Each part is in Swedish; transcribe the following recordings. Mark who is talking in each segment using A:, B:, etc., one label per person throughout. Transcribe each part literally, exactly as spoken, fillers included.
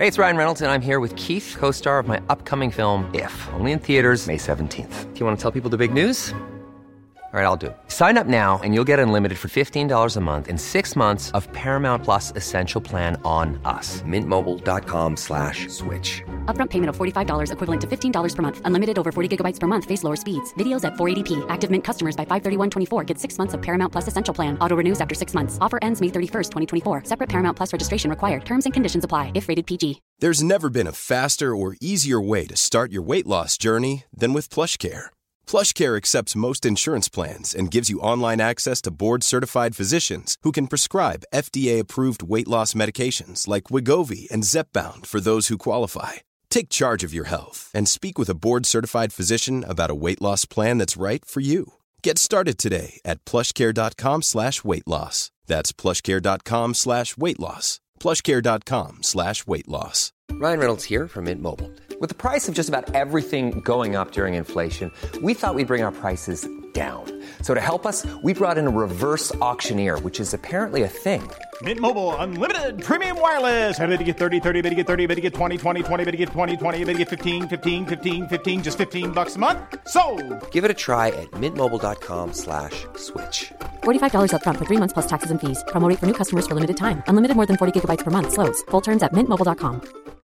A: Hey, it's Ryan Reynolds, and I'm here with Keith, co-star of my upcoming film, If, only in theaters May seventeenth. Do you want to tell people the big news? All right, I'll do it. Sign up now and you'll get unlimited for fifteen dollars a month and six months of Paramount Plus Essential Plan on us. Mintmobile.com slash switch.
B: Upfront payment of forty-five dollars equivalent to fifteen dollars per month. Unlimited over forty gigabytes per month. Face lower speeds. Videos at four eighty p. Active Mint customers by five thirty-one twenty-four get six months of Paramount Plus Essential Plan. Auto renews after six months. Offer ends May thirty-first, twenty twenty-four. Separate Paramount Plus registration required. Terms and conditions apply if rated P G.
C: There's never been a faster or easier way to start your weight loss journey than with PlushCare. PlushCare accepts most insurance plans and gives you online access to board-certified physicians who can prescribe F D A-approved weight loss medications like Wegovy and Zepbound for those who qualify. Take charge of your health and speak with a board-certified physician about a weight loss plan that's right for you. Get started today at plushcare.com slash weight loss. That's plushcare.com slash weight loss. plushcare.com slash weight loss.
A: Ryan Reynolds here from Mint Mobile. With the price of just about everything going up during inflation, we thought we'd bring our prices down. So to help us, we brought in a reverse auctioneer, which is apparently a thing.
D: Mint Mobile Unlimited Premium Wireless. How to get thirty, thirty, bit to get thirty, bit to get twenty, twenty, twenty, bit to get twenty, twenty, bit to get fifteen, fifteen, fifteen, fifteen, just fifteen bucks a month? Sold!
A: Give it a try at mintmobile.com slash switch.
B: forty-five dollars up front for three months plus taxes and fees. Promo rate for new customers for limited time. Unlimited more than forty gigabytes per month. Slows full terms at mint mobile dot com.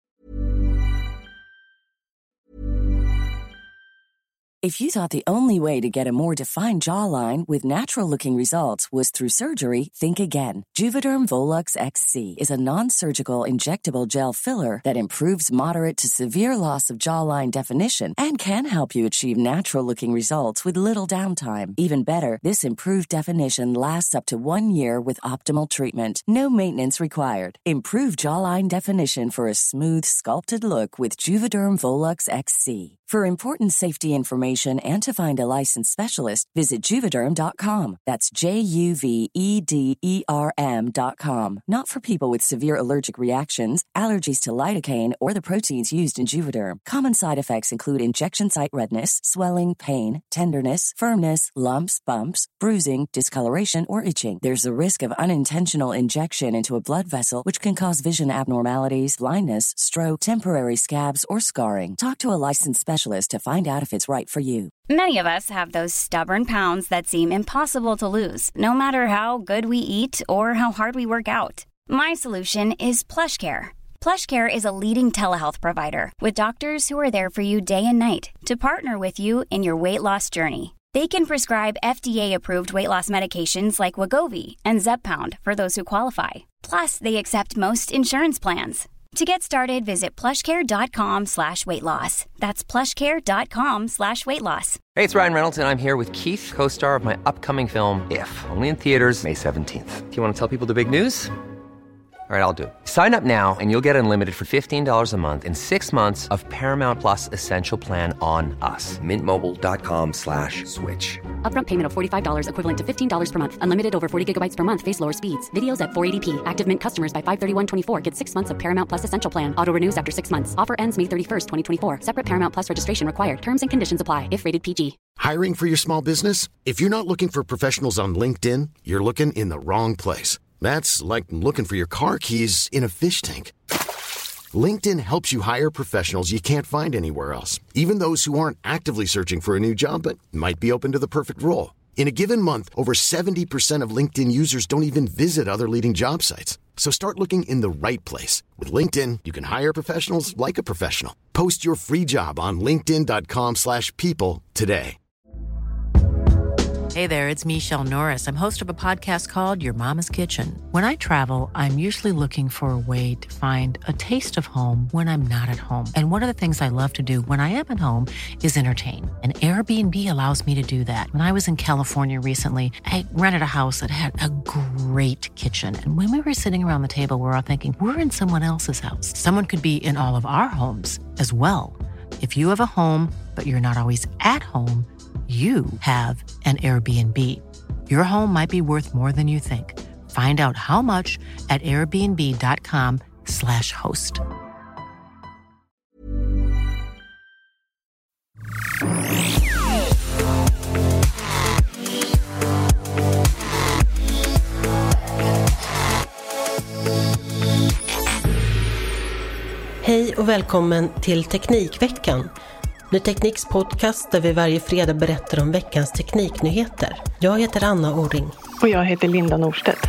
E: If you thought the only way to get a more defined jawline with natural-looking results was through surgery, think again. Juvederm Volux X C is a non-surgical injectable gel filler that improves moderate to severe loss of jawline definition and can help you achieve natural-looking results with little downtime. Even better, this improved definition lasts up to one year with optimal treatment. No maintenance required. Improve jawline definition for a smooth, sculpted look with Juvederm Volux X C. For important safety information and to find a licensed specialist, visit Juvederm dot com. That's J U V E D E R M dot com. Not for people with severe allergic reactions, allergies to lidocaine, or the proteins used in Juvederm. Common side effects include injection site redness, swelling, pain, tenderness, firmness, lumps, bumps, bruising, discoloration, or itching. There's a risk of unintentional injection into a blood vessel, which can cause vision abnormalities, blindness, stroke, temporary scabs, or scarring. Talk to a licensed specialist to find out if it's right for you.
F: Many of us have those stubborn pounds that seem impossible to lose, no matter how good we eat or how hard we work out. My solution is PlushCare. PlushCare is a leading telehealth provider with doctors who are there for you day and night to partner with you in your weight loss journey. They can prescribe F D A-approved weight loss medications like Wegovy and Zepbound for those who qualify. Plus, they accept most insurance plans. To get started, visit plushcare.com slash weight loss. That's plushcare.com slash weight loss.
A: Hey, it's Ryan Reynolds, and I'm here with Keith, co-star of my upcoming film, If, only in theaters May seventeenth. Do you want to tell people the big news? All right, I'll do it. Sign up now and you'll get unlimited for fifteen dollars a month and six months of Paramount Plus Essential Plan on us. Mintmobile.com slash switch.
B: Upfront payment of forty-five dollars equivalent to fifteen dollars per month. Unlimited over forty gigabytes per month. Face lower speeds. Videos at four eighty p. Active Mint customers by five thirty-one twenty-four get six months of Paramount Plus Essential Plan. Auto renews after six months. Offer ends May thirty-first, twenty twenty-four. Separate Paramount Plus registration required. Terms and conditions apply if rated P G.
G: Hiring for your small business? If you're not looking for professionals on LinkedIn, you're looking in the wrong place. That's like looking for your car keys in a fish tank. LinkedIn helps you hire professionals you can't find anywhere else, even those who aren't actively searching for a new job but might be open to the perfect role. In a given month, over seventy percent of LinkedIn users don't even visit other leading job sites. So start looking in the right place. With LinkedIn, you can hire professionals like a professional. Post your free job on linkedin.com slash people today.
H: Hey there, it's Michelle Norris. I'm host of a podcast called Your Mama's Kitchen. When I travel, I'm usually looking for a way to find a taste of home when I'm not at home. And one of the things I love to do when I am at home is entertain. And Airbnb allows me to do that. When I was in California recently, I rented a house that had a great kitchen. And when we were sitting around the table, we were all thinking, we're in someone else's house. Someone could be in all of our homes as well. If you have a home, but you're not always at home, you have an Airbnb. Your home might be worth more than you think. Find out how much at airbnb.com slash host.
I: Hej och välkommen till Teknikveckan. Ny Tekniks podcast där vi varje fredag berättar om veckans tekniknyheter. Jag heter Anna Åring.
J: Och jag heter Linda Norstedt.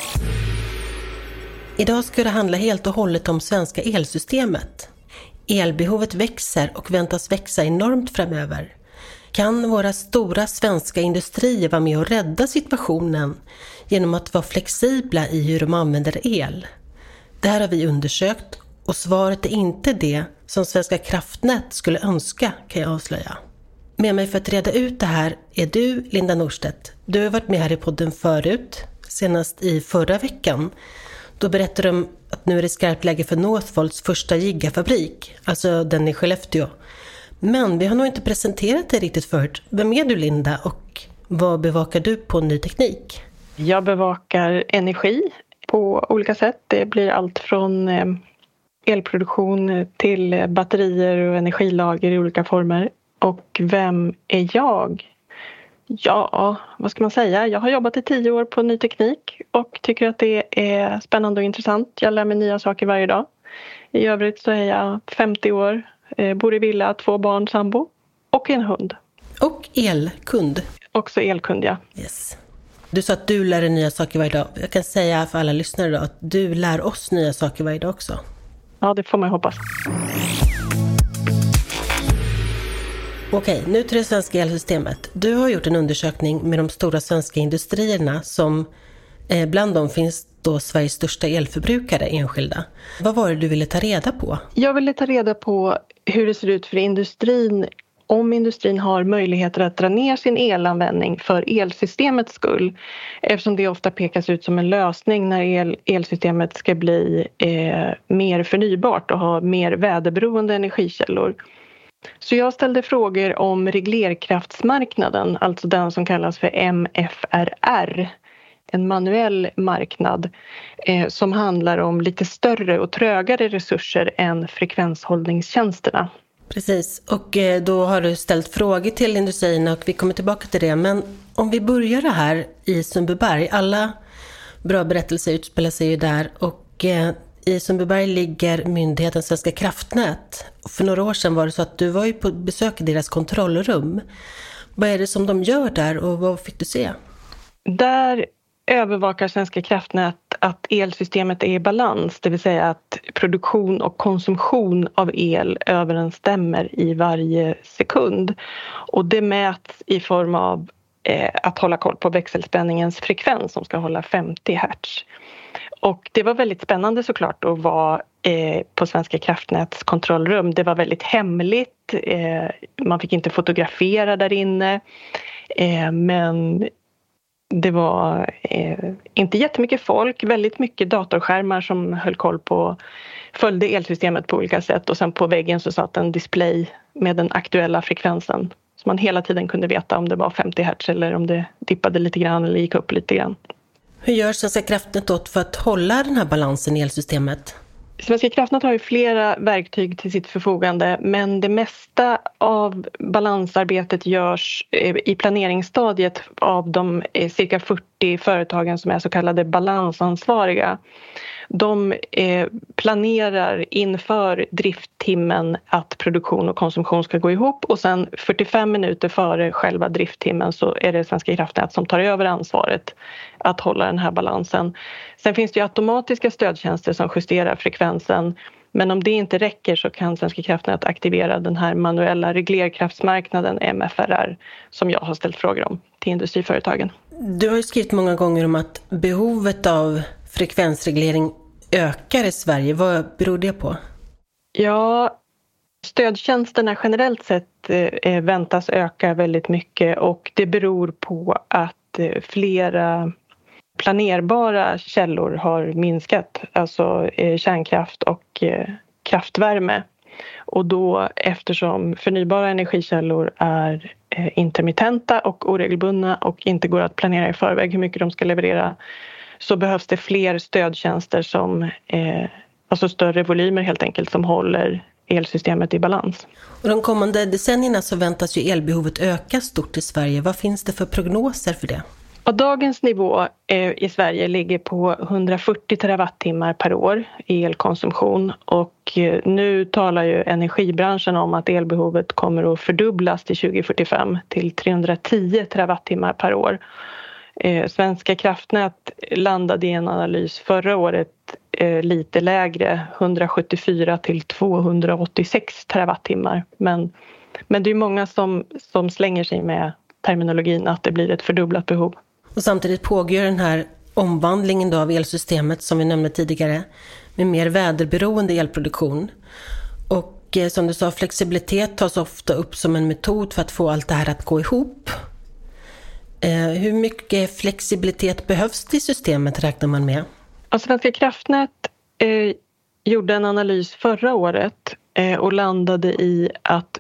I: Idag ska det handla helt och hållet om svenska elsystemet. Elbehovet växer och väntas växa enormt framöver. Kan våra stora svenska industrier vara med och rädda situationen genom att vara flexibla i hur de använder el? Det här har vi undersökt och svaret är inte det som Svenska kraftnät skulle önska, kan jag avslöja. Med mig för att reda ut det här är du, Linda Norstedt. Du har varit med här i podden förut, senast i förra veckan. Då berättade de att nu är det skarpt läge för Northvolts första gigafabrik, alltså den i Skellefteå. Men vi har nog inte presenterat det riktigt förut. Vem är du, Linda, och vad bevakar du på Ny Teknik?
J: Jag bevakar energi på olika sätt. Det blir allt från elproduktion till batterier och energilager i olika former. Och vem är jag? Ja, vad ska man säga? Jag har jobbat i tio år på Ny Teknik och tycker att det är spännande och intressant. Jag lär mig nya saker varje dag. I övrigt så är jag femtio år, bor i villa, två barn, sambo och en hund.
I: Och elkund.
J: Också elkund, ja.
I: Yes. Du sa att du lär dig nya saker varje dag. Jag kan säga för alla lyssnare då att du lär oss nya saker varje dag också.
J: Ja, det får man hoppas.
I: Okej, nu till det svenska elsystemet. Du har gjort en undersökning med de stora svenska industrierna som eh, bland dem finns då Sveriges största elförbrukare enskilda. Vad var det du ville ta reda på?
J: Jag ville ta reda på hur det ser ut för industrin, om industrin har möjligheter att dra ner sin elanvändning för elsystemets skull. Eftersom det ofta pekas ut som en lösning när el, elsystemet ska bli eh, mer förnybart och ha mer väderberoende energikällor. Så jag ställde frågor om reglerkraftsmarknaden, alltså den som kallas för M F R R. En manuell marknad eh, som handlar om lite större och trögare resurser än frekvenshållningstjänsterna.
I: Precis, och eh, då har du ställt frågor till industrierna och vi kommer tillbaka till det. Men om vi börjar det här i Sundbyberg, alla bra berättelser utspelar sig ju där och eh, i Sundbyberg ligger myndigheten Svenska kraftnät. Och för några år sedan var det så att du var ju på besök i deras kontrollrum. Vad är det som de gör där och vad fick du se?
J: Där övervakar Svenska kraftnät att elsystemet är i balans, det vill säga att produktion och konsumtion av el överensstämmer i varje sekund. Och det mäts i form av eh, att hålla koll på växelspänningens frekvens som ska hålla femtio hertz. Och det var väldigt spännande såklart att vara eh, på Svenska kraftnäts kontrollrum. Det var väldigt hemligt, eh, man fick inte fotografera där inne, eh, men det var eh, inte jättemycket folk, väldigt mycket datorskärmar som höll koll på, följde elsystemet på olika sätt och sen på väggen så satt en display med den aktuella frekvensen. Så man hela tiden kunde veta om det var femtio hertz eller om det dippade lite grann eller gick upp lite grann.
I: Hur gör Svenska kraftnät åt för att hålla den här balansen i elsystemet?
J: Svenska kraftnät har ju flera verktyg till sitt förfogande, men det mesta av balansarbetet görs i planeringsstadiet av de cirka fyrtio företagen som är så kallade balansansvariga. De planerar inför drifttimmen att produktion och konsumtion ska gå ihop och sen fyrtiofem minuter före själva drifttimmen så är det Svenska kraftnät som tar över ansvaret att hålla den här balansen. Sen finns det ju automatiska stödtjänster som justerar frekvensen, men om det inte räcker så kan Svenska kraftnät aktivera den här manuella reglerkraftsmarknaden M F R R som jag har ställt frågor om till industriföretagen.
I: Du har ju skrivit många gånger om att behovet av frekvensreglering ökar i Sverige. Vad beror det på?
J: Ja, stödtjänsterna generellt sett eh, väntas öka väldigt mycket och det beror på att eh, flera planerbara källor har minskat, alltså eh, kärnkraft och eh, kraftvärme. Och då eftersom förnybara energikällor är eh, intermittenta och oregelbundna och inte går att planera i förväg hur mycket de ska leverera, så behövs det fler stödtjänster som, eh, alltså större volymer helt enkelt, som håller elsystemet i balans.
I: Och de kommande decennierna så väntas ju elbehovet öka stort i Sverige. Vad finns det för prognoser för det?
J: Och dagens nivå eh, i Sverige ligger på hundrafyrtio terawattimmar per år i elkonsumtion. Och eh, nu talar ju energibranschen om att elbehovet kommer att fördubblas till tjugo fyrtiofem till trehundratio terawattimmar per år. Eh, Svenska kraftnät landade i en analys förra året eh, lite lägre, hundrasjuttiofyra till tvåhundraåttiosex terawattimmar. Men, men det är många som, som slänger sig med terminologin att det blir ett fördubblat behov.
I: Och samtidigt pågår den här omvandlingen då av elsystemet som vi nämnde tidigare med mer väderberoende elproduktion. Och eh, som du sa, flexibilitet tas ofta upp som en metod för att få allt det här att gå ihop. Eh, hur mycket flexibilitet behövs det i systemet räknar man med?
J: Ja, Svenska kraftnät eh, gjorde en analys förra året eh, och landade i att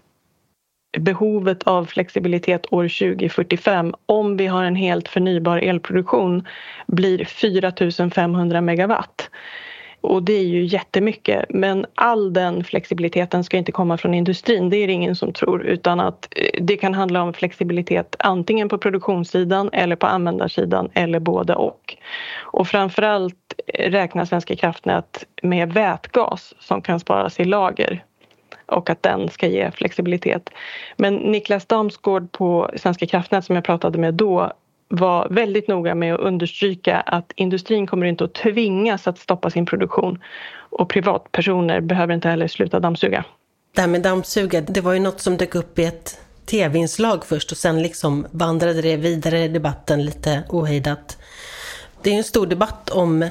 J: behovet av flexibilitet år tjugo fyrtiofem om vi har en helt förnybar elproduktion blir fyra tusen femhundra megawatt. Och det är ju jättemycket, men all den flexibiliteten ska inte komma från industrin, det är det ingen som tror, utan att det kan handla om flexibilitet antingen på produktionssidan eller på användarsidan eller både och. Och framförallt räknar Svenska kraftnät med vätgas som kan sparas i lager och att den ska ge flexibilitet. Men Niklas Damsgård på Svenska kraftnät som jag pratade med då var väldigt noga med att understryka att industrin kommer inte att tvingas att stoppa sin produktion och privatpersoner behöver inte heller sluta dammsuga.
I: Det här med dammsuga, det var ju något som dök upp i ett tv-inslag först och sen liksom vandrade det vidare i debatten lite ohejdat. Det är en stor debatt om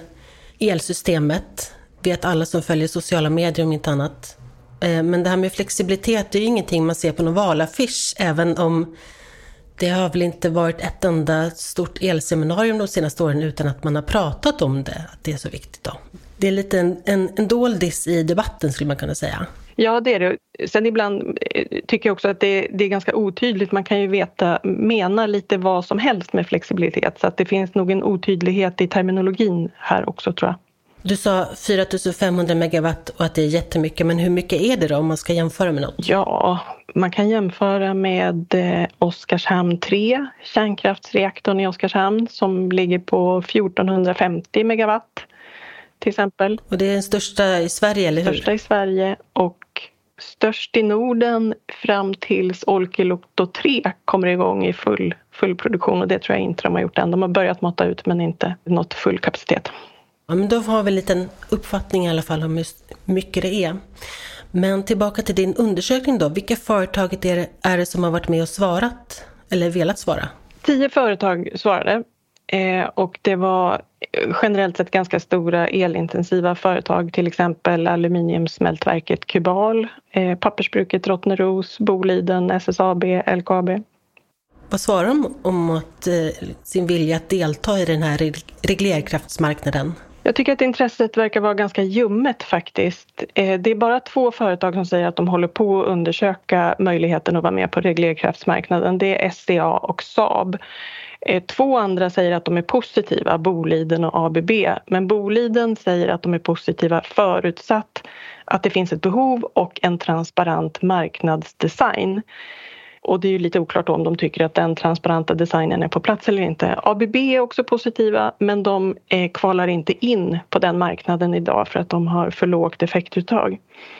I: elsystemet, vet alla som följer sociala medier om inte annat. Men det här med flexibilitet är ju ingenting man ser på någon valaffisch, även om det har väl inte varit ett enda stort elseminarium de senaste åren utan att man har pratat om det, att det är så viktigt då. Det är lite en, en, en doldis i debatten skulle man kunna säga.
J: Ja, det är det. Sen ibland tycker jag också att det, det är ganska otydligt. Man kan ju veta, mena lite vad som helst med flexibilitet. Så att det finns nog en otydlighet i terminologin här också tror jag.
I: Du sa fyra tusen femhundra megawatt och att det är jättemycket, men hur mycket är det då om man ska jämföra med något?
J: Ja, man kan jämföra med eh, Oskarshamn tre, kärnkraftsreaktorn i Oskarshamn som ligger på fjortonhundrafemtio megawatt till exempel.
I: Och det är den största i Sverige, eller hur?
J: Största i Sverige och störst i Norden fram tills Olkiluoto tre kommer igång i full, full produktion och det tror jag inte de har gjort än. De har börjat mata ut men inte nått full kapacitet.
I: Ja, men då har vi en liten uppfattning i alla fall om hur mycket det är. Men tillbaka till din undersökning då. Vilka företag är det, är det som har varit med och svarat eller velat svara?
J: Tio företag svarade eh, och det var generellt sett ganska stora elintensiva företag. Till exempel aluminiumsmältverket Kubal, eh, pappersbruket Rottneros, Boliden, S S A B, L K A B.
I: Vad svarar de om att, eh, sin vilja att delta i den här reglerkraftsmarknaden?
J: Jag tycker att intresset verkar vara ganska ljummet faktiskt. Eh, det är bara två företag som säger att de håller på att undersöka möjligheten att vara med på reglerkraftsmarknaden. Det är S C A och Saab. Eh, två andra säger att de är positiva, Boliden och A B B. Men Boliden säger att de är positiva förutsatt att det finns ett behov och en transparent marknadsdesign. Och det är ju lite oklart om de tycker att den transparenta designen är på plats eller inte. A B B är också positiva men de eh, kvalar inte in på den marknaden idag för att de har för lågt effektuttag.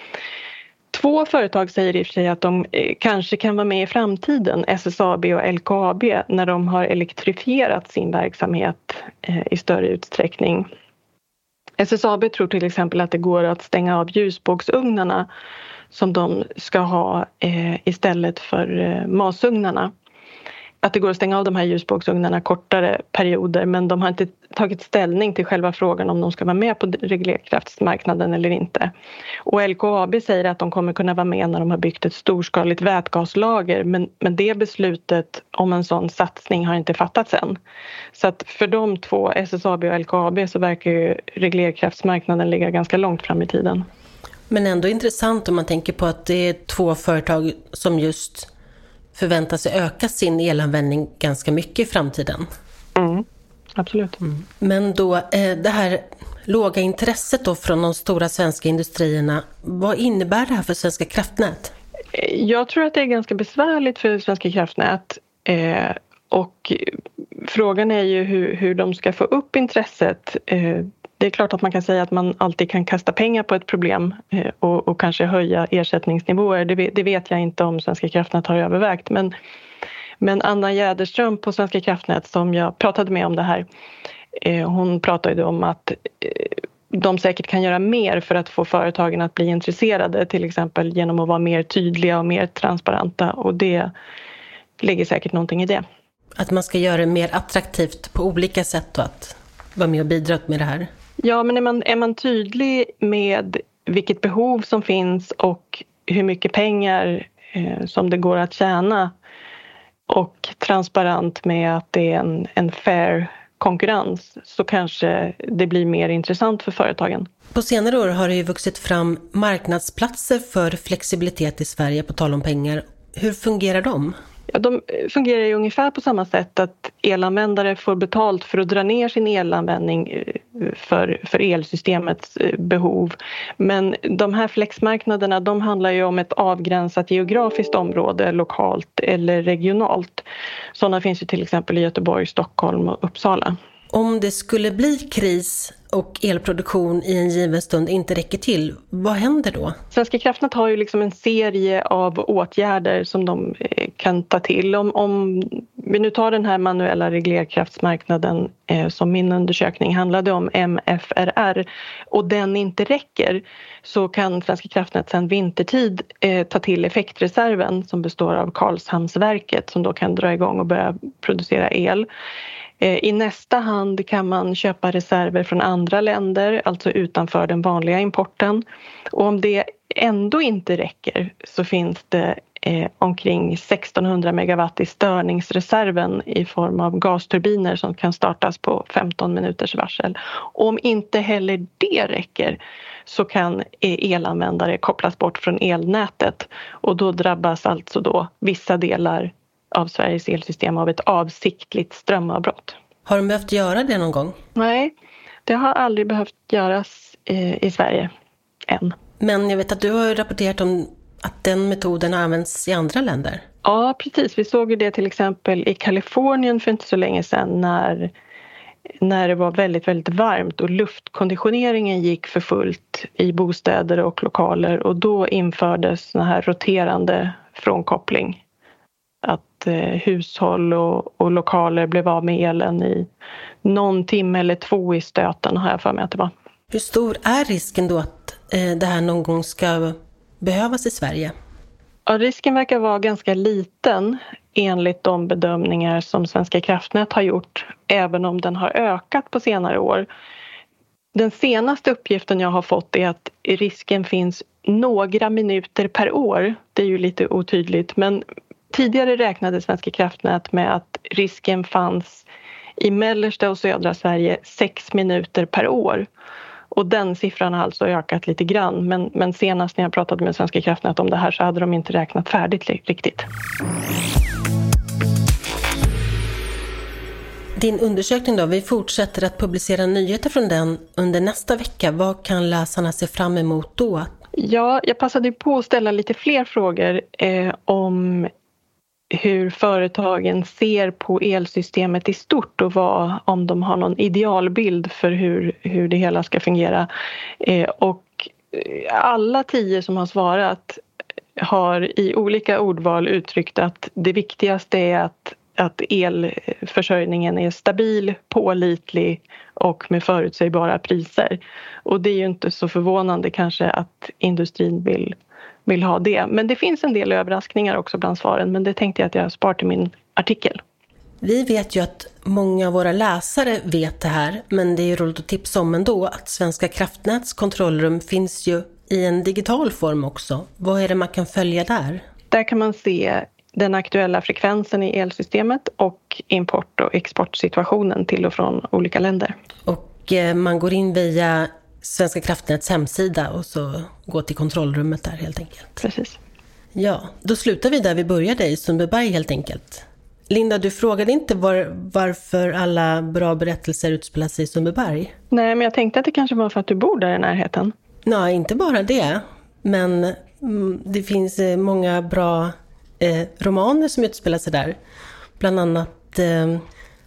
J: Två företag säger i och för sig att de eh, kanske kan vara med i framtiden, S S A B och L K A B, när de har elektrifierat sin verksamhet eh, i större utsträckning. S S A B tror till exempel att det går att stänga av ljusbågsugnarna som de ska ha eh, istället för eh, masugnarna. Att det går att stänga av de här ljusbågsugnarna kortare perioder men de har inte tagit ställning till själva frågan om de ska vara med på reglerkraftsmarknaden eller inte. Och L K A B säger att de kommer kunna vara med när de har byggt ett storskaligt vätgaslager men, men det beslutet om en sån satsning har inte fattats än. Så att för de två, S S A B och L K A B, så verkar ju reglerkraftsmarknaden ligga ganska långt fram i tiden.
I: Men ändå intressant om man tänker på att det är två företag som just förväntar sig öka sin elanvändning ganska mycket i framtiden.
J: Mm, absolut. Mm.
I: Men då, det här låga intresset då från de stora svenska industrierna, vad innebär det här för Svenska kraftnät?
J: Jag tror att det är ganska besvärligt för Svenska kraftnät. Eh, och frågan är ju hur, hur de ska få upp intresset. Eh, det är klart att man kan säga att man alltid kan kasta pengar på ett problem eh, och, och kanske höja ersättningsnivåer. Det, det vet jag inte om Svenska kraftnät har övervägt. Men, men Anna Jäderström på Svenska kraftnät som jag pratade med om det här, eh, hon pratade om att eh, de säkert kan göra mer för att få företagen att bli intresserade, till exempel genom att vara mer tydliga och mer transparenta, och det ligger säkert någonting i det.
I: Att man ska göra det mer attraktivt på olika sätt och att vara med och bidra med det här.
J: Ja, men är man, är man tydlig med vilket behov som finns och hur mycket pengar eh, som det går att tjäna, och transparent med att det är en, en fair konkurrens, så kanske det blir mer intressant för företagen.
I: På senare år har det ju vuxit fram marknadsplatser för flexibilitet i Sverige, på tal om pengar. Hur fungerar de?
J: Ja, de fungerar ju ungefär på samma sätt, att elanvändare får betalt för att dra ner sin elanvändning för, för elsystemets behov. Men de här flexmarknaderna, de handlar ju om ett avgränsat geografiskt område, lokalt eller regionalt. Sådana finns ju till exempel i Göteborg, Stockholm och Uppsala.
I: Om det skulle bli kris och elproduktion i en given stund inte räcker till, vad händer då?
J: Svenska kraftnät har ju liksom en serie av åtgärder som de kan ta till. Om, om vi nu tar den här manuella reglerkraftsmarknaden eh, som min undersökning handlade om, M F R R, och den inte räcker, så kan Svenska kraftnät sedan vintertid eh, ta till effektreserven som består av Karlshamnsverket, som då kan dra igång och börja producera el. I nästa hand kan man köpa reserver från andra länder, alltså utanför den vanliga importen. Och om det ändå inte räcker, så finns det eh, omkring sextonhundra megawatt i störningsreserven i form av gasturbiner som kan startas på femton minuters varsel. Och om inte heller det räcker, så kan elanvändare kopplas bort från elnätet, och då drabbas alltså då vissa delar av Sveriges elsystem av ett avsiktligt strömavbrott.
I: Har de behövt göra det någon gång?
J: Nej, det har aldrig behövt göras i, i Sverige än.
I: Men jag vet att du har rapporterat om att den metoden används i andra länder.
J: Ja, precis. Vi såg ju det till exempel i Kalifornien för inte så länge sedan, när, när det var väldigt, väldigt varmt och luftkonditioneringen gick för fullt i bostäder och lokaler, och då infördes den här roterande frånkoppling. Att eh, hushåll och, och lokaler blev av med elen i någon timme eller två i stöten, har jag för mig att det var.
I: Hur stor är risken då att eh, det här någon gång ska behövas i Sverige?
J: Ja, risken verkar vara ganska liten enligt de bedömningar som Svenska kraftnät har gjort, även om den har ökat på senare år. Den senaste uppgiften jag har fått är att risken finns några minuter per år. Det är ju lite otydligt, men tidigare räknade Svenska kraftnät med att risken fanns i mellersta och södra Sverige sex minuter per år. Och den siffran har alltså ökat lite grann. Men, men senast när jag pratade med Svenska kraftnät om det här, så hade de inte räknat färdigt riktigt.
I: Din undersökning då, vi fortsätter att publicera nyheter från den under nästa vecka. Vad kan läsarna se fram emot då?
J: Ja, jag passade på att ställa lite fler frågor eh, om hur företagen ser på elsystemet i stort, och vad, om de har någon idealbild för hur, hur det hela ska fungera. Eh, och alla tio som har svarat har i olika ordval uttryckt att det viktigaste är att, att elförsörjningen är stabil, pålitlig och med förutsägbara priser. Och det är ju inte så förvånande kanske att industrin vill vill ha det. Men det finns en del överraskningar också bland svaren, men det tänkte jag att jag spar till min artikel.
I: Vi vet ju att många av våra läsare vet det här, men det är ju roligt att tipsa om ändå att Svenska kraftnäts kontrollrum finns ju i en digital form också. Vad är det man kan följa där?
J: Där kan man se den aktuella frekvensen i elsystemet och import- och exportsituationen till och från olika länder.
I: Och eh, man går in via Svenska kraftnäts hemsida och så går till kontrollrummet där helt enkelt.
J: Precis.
I: Ja, då slutar vi där vi började, i Sundbyberg helt enkelt. Linda, du frågade inte var, varför alla bra berättelser utspelar sig i Sundbyberg?
J: Nej, men jag tänkte att det kanske var för att du bor där i närheten.
I: Nej, inte bara det. Men mm, det finns eh, många bra eh, romaner som utspelar sig där. Bland annat eh,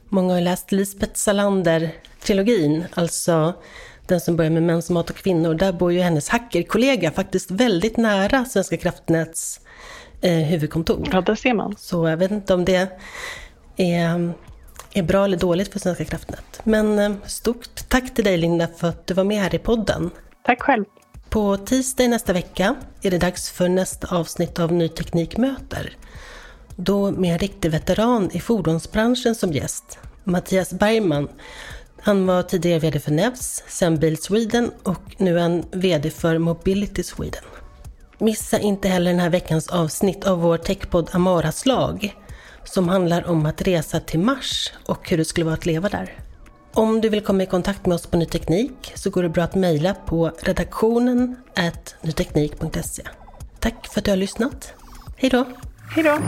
I: Många har läst Lisbeth Salander-trilogin, alltså den som börjar med Mäns, mat och kvinnor. Där bor ju hennes hackerkollega faktiskt väldigt nära Svenska kraftnäts eh, huvudkontor.
J: Ja, där ser man.
I: Så jag vet inte om det är, är bra eller dåligt för Svenska kraftnät. Men eh, stort tack till dig, Linda, för att du var med här i podden.
J: Tack själv.
I: På tisdag nästa vecka är det dags för nästa avsnitt av Ny Teknik möter. Då med en riktig veteran i fordonsbranschen som gäst, Mattias Bergman. Han var tidigare vd för Nevs, sen Bil Sweden och nu en vd för Mobility Sweden. Missa inte heller den här veckans avsnitt av vår techpodd Amaras lag, som handlar om att resa till Mars och hur det skulle vara att leva där. Om du vill komma i kontakt med oss på Ny Teknik så går det bra att mejla på redaktionen at nyteknik punkt se. Tack för att du har lyssnat. Hej då!
J: Hej då!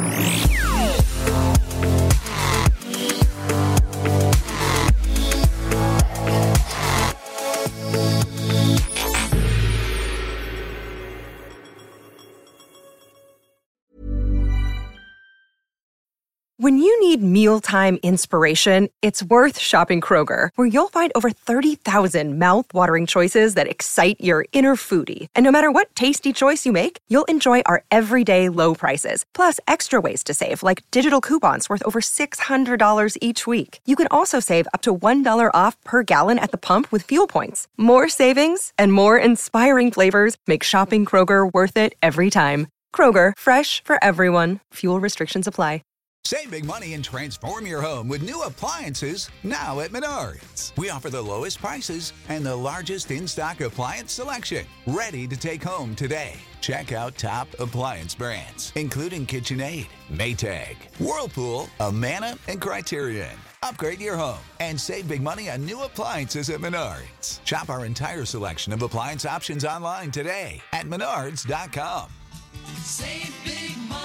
K: When you need mealtime inspiration, it's worth shopping Kroger, where you'll find over thirty thousand mouth-watering choices that excite your inner foodie. And no matter what tasty choice you make, you'll enjoy our everyday low prices, plus extra ways to save, like digital coupons worth over six hundred dollars each week. You can also save up to one dollar off per gallon at the pump with fuel points. More savings and more inspiring flavors make shopping Kroger worth it every time. Kroger, fresh for everyone. Fuel restrictions apply.
L: Save big money and transform your home with new appliances now at Menards. We offer the lowest prices and the largest in-stock appliance selection. Ready to take home today. Check out top appliance brands, including KitchenAid, Maytag, Whirlpool, Amana, and Criterion. Upgrade your home and save big money on new appliances at Menards. Shop our entire selection of appliance options online today at menards dot com.
M: Save big money.